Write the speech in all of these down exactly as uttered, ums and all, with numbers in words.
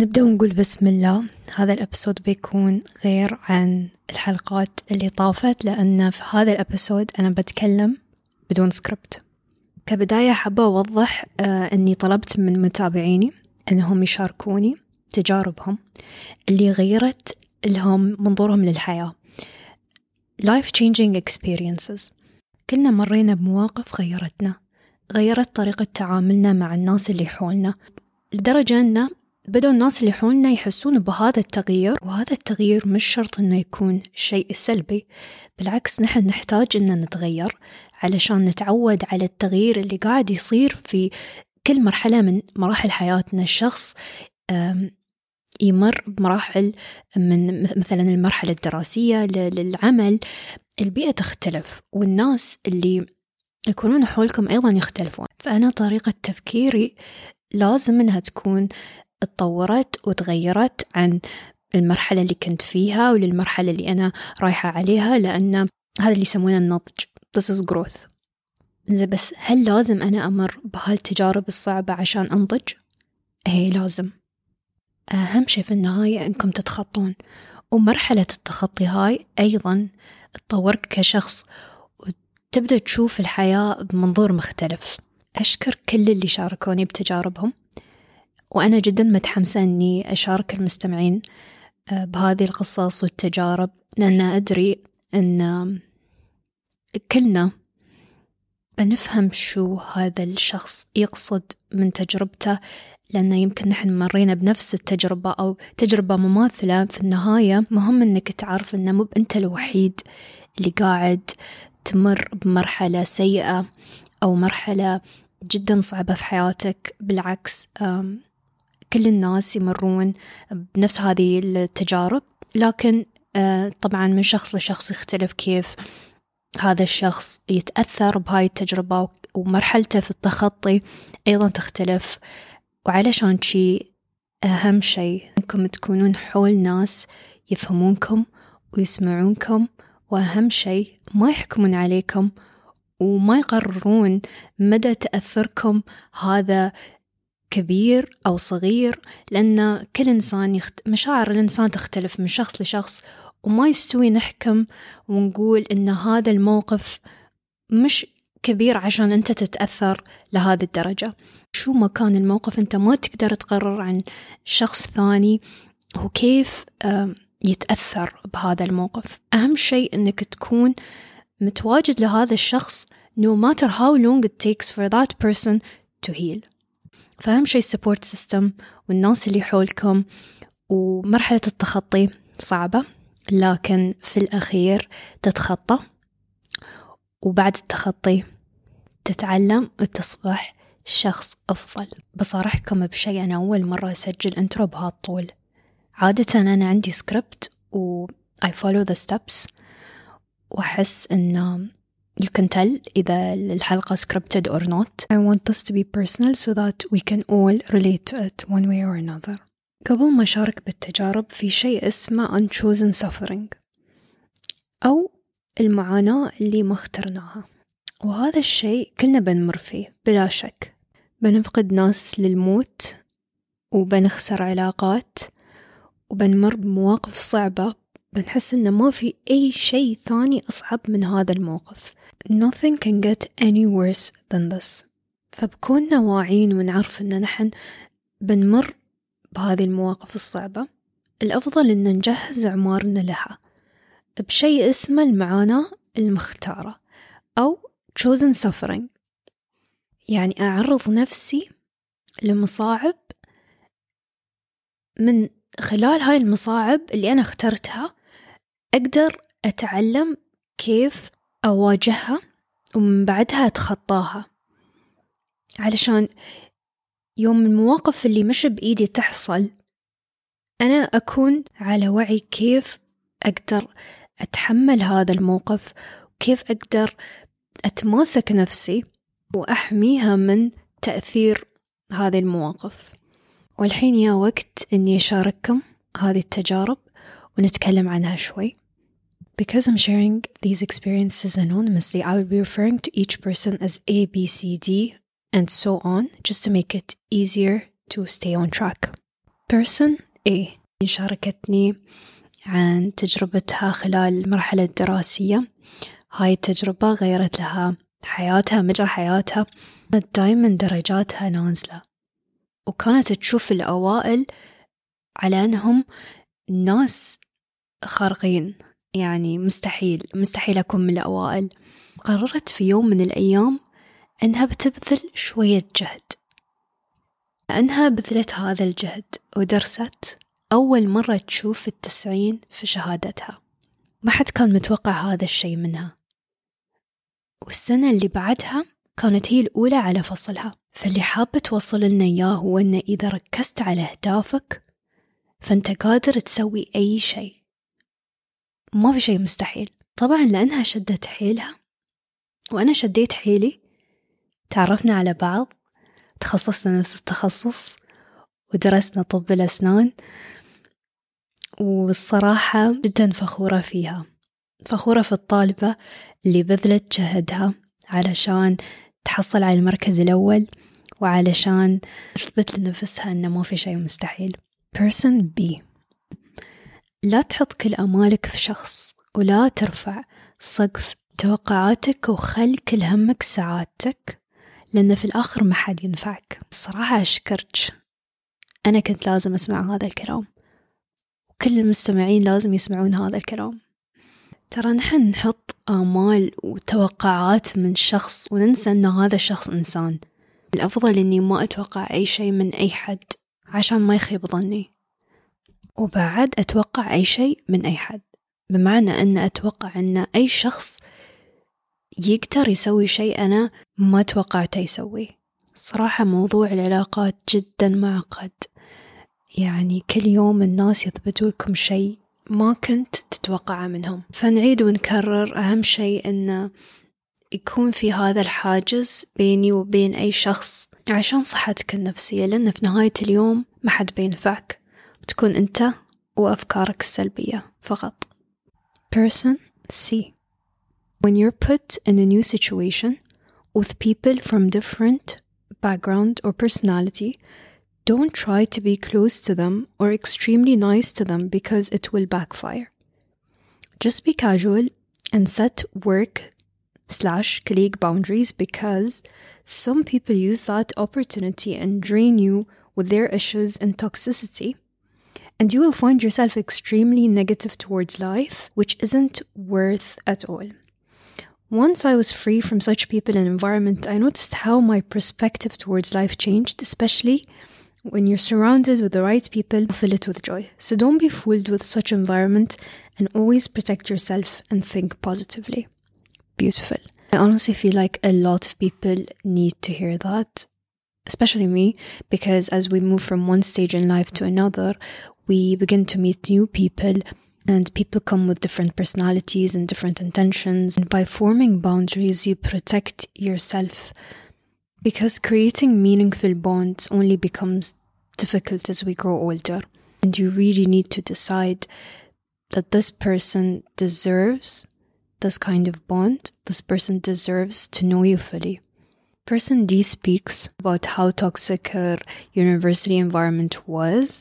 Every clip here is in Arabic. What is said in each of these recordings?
نبدأ ونقول بسم الله. هذا الأبسود بيكون غير عن الحلقات اللي طافت، لأن في هذا الأبسود أنا بتكلم بدون سكريبت. كبداية حابة أوضح آه أني طلبت من متابعيني أنهم يشاركوني تجاربهم اللي غيرت لهم منظورهم للحياة. life changing experiences. كلنا مرينا بمواقف غيرتنا، غيرت طريقة تعاملنا مع الناس اللي حولنا، لدرجة أن بدأوا الناس اللي حولنا يحسون بهذا التغيير. وهذا التغيير مش شرط أنه يكون شيء سلبي، بالعكس نحن نحتاج أن نتغير علشان نتعود على التغيير اللي قاعد يصير في كل مرحلة من مراحل حياتنا. الشخص يمر بمراحل، من مثلا المرحلة الدراسية للعمل، البيئة تختلف، والناس اللي يكونون حولكم أيضا يختلفون. فأنا طريقة تفكيري لازم أنها تكون اتطورت وتغيرت عن المرحلة اللي كنت فيها وللمرحلة اللي أنا رايحة عليها، لأن هذا اللي يسمونه النضج. This is growth. زي بس هل لازم أنا أمر بهالتجارب الصعبة عشان أنضج؟ هي لازم. أهم شيء في النهاية أنكم تتخطون، ومرحلة التخطي هاي أيضا تطورك كشخص وتبدأ تشوف الحياة بمنظور مختلف. أشكر كل اللي شاركوني بتجاربهم، وأنا جدا متحمسة أني أشارك المستمعين بهذه القصص والتجارب، لأن أدري أن كلنا بنفهم شو هذا الشخص يقصد من تجربته، لأن يمكن نحن مرينا بنفس التجربة أو تجربة مماثلة. في النهاية مهم أنك تعرف أنه مو أنت الوحيد اللي قاعد تمر بمرحلة سيئة أو مرحلة جدا صعبة في حياتك. بالعكس، كل الناس يمرون بنفس هذه التجارب، لكن طبعا من شخص لشخص يختلف كيف هذا الشخص يتأثر بهاي التجربة، ومرحلته في التخطي أيضا تختلف. وعلشان شي أهم شيء أنكم تكونون حول ناس يفهمونكم ويسمعونكم، وأهم شيء ما يحكمون عليكم وما يقررون مدى تأثركم هذا كبير أو صغير، لأن كل إنسان يخت... مشاعر الإنسان تختلف من شخص لشخص، وما يستوي نحكم ونقول إن هذا الموقف مش كبير عشان أنت تتأثر لهذه الدرجة. شو ما كان الموقف أنت ما تقدر تقرر عن شخص ثاني وكيف يتأثر بهذا الموقف. أهم شيء أنك تكون متواجد لهذا الشخص no matter how long it takes for that person to heal. فأهم شيء support system والناس اللي حولكم. ومرحلة التخطي صعبة، لكن في الأخير تتخطى، وبعد التخطي تتعلم وتصبح شخص أفضل. بصارحكم بشيء، أنا أول مرة أسجل انترو بهالطول. عادة أنا عندي سكريبت و I follow the steps، وأحس أن you can tell إذا الحلقة scripted or not. I want this to be personal so that we can all relate to it one way or another. قبل ما أشارك بالتجارب، في شيء اسمه unchosen suffering أو المعاناة اللي ما اخترناها، وهذا الشيء كلنا بنمر فيه بلا شك. بنفقد ناس للموت، وبنخسر علاقات، وبنمر بمواقف صعبة بنحس إنه ما في أي شيء ثاني أصعب من هذا الموقف. Nothing can get any worse than this. فبكوننا واعين ونعرف إن نحن بنمر بهذه المواقف الصعبة، الأفضل إن نجهز أعمارنا لها بشيء اسمه المعاناة المختارة أو chosen suffering. يعني أعرض نفسي لمصاعب، من خلال هاي المصاعب اللي أنا اخترتها أقدر أتعلم كيف أواجهها، ومن بعدها أتخطاها، علشان يوم المواقف اللي مش بإيدي تحصل أنا أكون على وعي كيف أقدر أتحمل هذا الموقف، وكيف أقدر أتماسك نفسي وأحميها من تأثير هذه المواقف. والحين يا وقت أني أشارككم هذه التجارب ونتكلم عنها شوي. Because I'm sharing these experiences anonymously, I will be referring to each person as A, B, C, D, and so on, just to make it easier to stay on track. Person A شاركتني عن تجربتها خلال المرحلة الدراسية. هاي التجربة غيرت لها حياتها، مجرى حياتها. كانت دايما درجاتها نازلة، وكانت تشوف الأوائل على أنهم ناس خارقين، يعني مستحيل مستحيل أكون من الأوائل. قررت في يوم من الأيام أنها بتبذل شوية جهد. لأنها بذلت هذا الجهد ودرست، أول مرة تشوف التسعين في شهادتها. ما حد كان متوقع هذا الشيء منها. والسنة اللي بعدها كانت هي الأولى على فصلها. فاللي حابة توصل لنا إياه هو أن إذا ركزت على أهدافك فأنت قادر تسوي أي شيء، ما في شيء مستحيل. طبعا لأنها شدت حيلها وأنا شديت حيلي، تعرفنا على بعض، تخصصنا نفس التخصص، ودرسنا طب الأسنان. والصراحة جدا فخورة فيها، فخورة في الطالبة اللي بذلت جهدها علشان تحصل على المركز الأول، وعلشان تثبت لنفسها أنه ما في شيء مستحيل. Person B، لا تحط كل أمالك في شخص، ولا ترفع سقف توقعاتك وخل كل همك سعادتك، لأن في الآخر ما حد ينفعك. الصراحة أشكرك، أنا كنت لازم أسمع هذا الكلام، وكل المستمعين لازم يسمعون هذا الكلام. ترى نحن نحط آمال وتوقعات من شخص وننسى أن هذا الشخص إنسان. الأفضل أني ما أتوقع أي شيء من أي حد عشان ما يخيب ظني، وبعد أتوقع أي شيء من أي حد بمعنى أن أتوقع أن أي شخص يقدر يسوي شيء أنا ما توقعته يسوي. صراحة موضوع العلاقات جدا معقد، يعني كل يوم الناس يثبتوا لكم شيء ما كنت تتوقعه منهم. فنعيد ونكرر، أهم شيء أن يكون في هذا الحاجز بيني وبين أي شخص عشان صحتك النفسية، لأن في نهاية اليوم ما حد بينفعك، بتكون أنت وأفكارك السلبية فقط. Person C، when you're put in a new situation with people from different background or personality, don't try to be close to them or extremely nice to them because it will backfire. Just be casual and set work slash colleague boundaries, because some people use that opportunity and drain you with their issues and toxicity, and you will find yourself extremely negative towards life, which isn't worth at all. Once I was free from such people and environment, I noticed how my perspective towards life changed, especially when you're surrounded with the right people who fill it with joy. So don't be fooled with such environment, and always protect yourself and think positively. Beautiful. I honestly feel like a lot of people need to hear that, especially me, because as we move from one stage in life to another, we begin to meet new people, and people come with different personalities and different intentions. And by forming boundaries, you protect yourself, because creating meaningful bonds only becomes difficult as we grow older. And you really need to decide that this person deserves this kind of bond. This person deserves to know you fully. Person D speaks about how toxic her university environment was.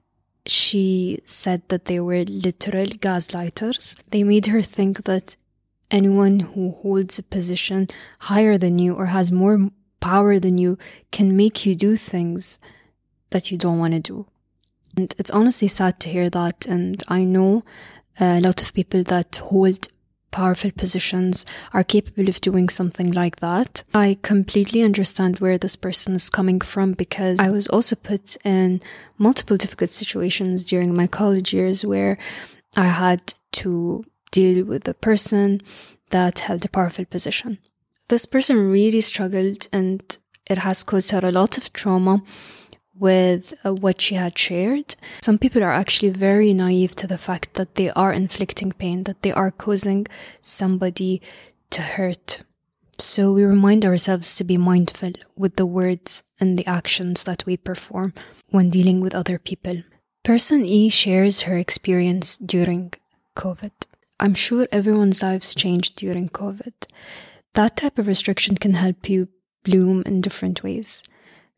She said that they were literal gaslighters. They made her think that anyone who holds a position higher than you or has more power than you can make you do things that you don't want to do. And it's honestly sad to hear that. And I know a lot of people that hold powerful positions are capable of doing something like that. I completely understand where this person is coming from, because I was also put in multiple difficult situations during my college years where I had to deal with a person that held a powerful position. This person really struggled, and it has caused her a lot of trauma with uh, what she had shared. Some people are actually very naive to the fact that they are inflicting pain, that they are causing somebody to hurt. So we remind ourselves to be mindful with the words and the actions that we perform when dealing with other people. Person E shares her experience during COVID. I'm sure everyone's lives changed during COVID. That type of restriction can help you bloom in different ways.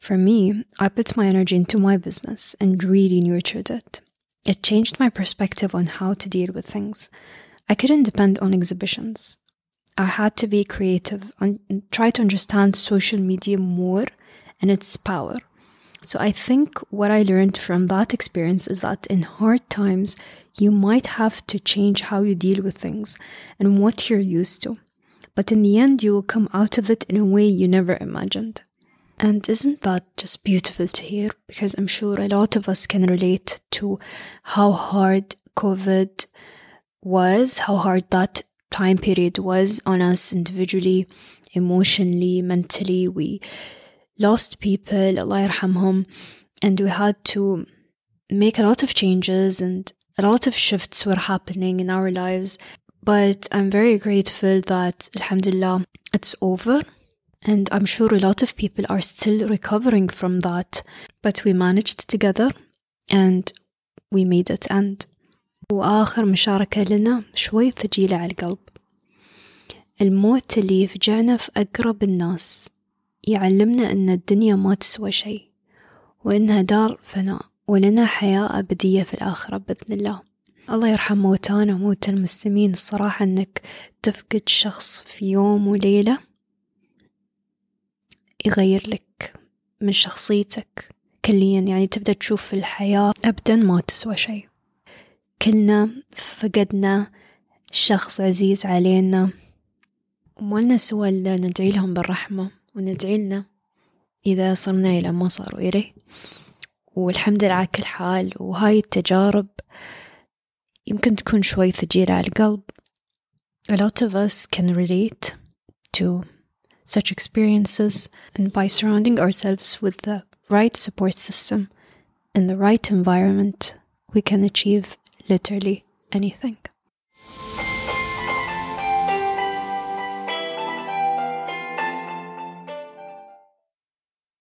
For me, I put my energy into my business and really nurtured it. It changed my perspective on how to deal with things. I couldn't depend on exhibitions. I had to be creative and try to understand social media more and its power. So I think what I learned from that experience is that in hard times, you might have to change how you deal with things and what you're used to. But in the end, you will come out of it in a way you never imagined. And isn't that just beautiful to hear? Because I'm sure a lot of us can relate to how hard COVID was, how hard that time period was on us individually, emotionally, mentally. We lost people, Allah yarhamhum, and we had to make a lot of changes and a lot of shifts were happening in our lives. But I'm very grateful that, alhamdulillah, it's over. And I'm sure a lot of people are still recovering from that. But we managed together and we made it end. وآخر مشاركة لنا شوي ثقيلة على القلب. الموت اللي يفجعنا في أقرب الناس يعلمنا أن الدنيا ما تسوى شيء وإنها دار فناء ولنا حياة أبدية في الآخرة بإذن الله. الله يرحم موتانا وموت المسلمين. الصراحة أنك تفقد شخص في يوم وليلة يغير لك من شخصيتك كليا، يعني تبدأ تشوف الحياة أبدا ما تسوى شيء. كلنا فقدنا شخص عزيز علينا وما لنا سوى إلا ندعي لهم بالرحمة وندعي لنا إذا صرنا إلى ما صاروا إليه. والحمد لله على كل حال. وهاي التجارب يمكن تكون شوي ثقيلة على القلب. A lot of us can relate to such experiences, and by surrounding ourselves with the right support system and the right environment, we can achieve literally anything.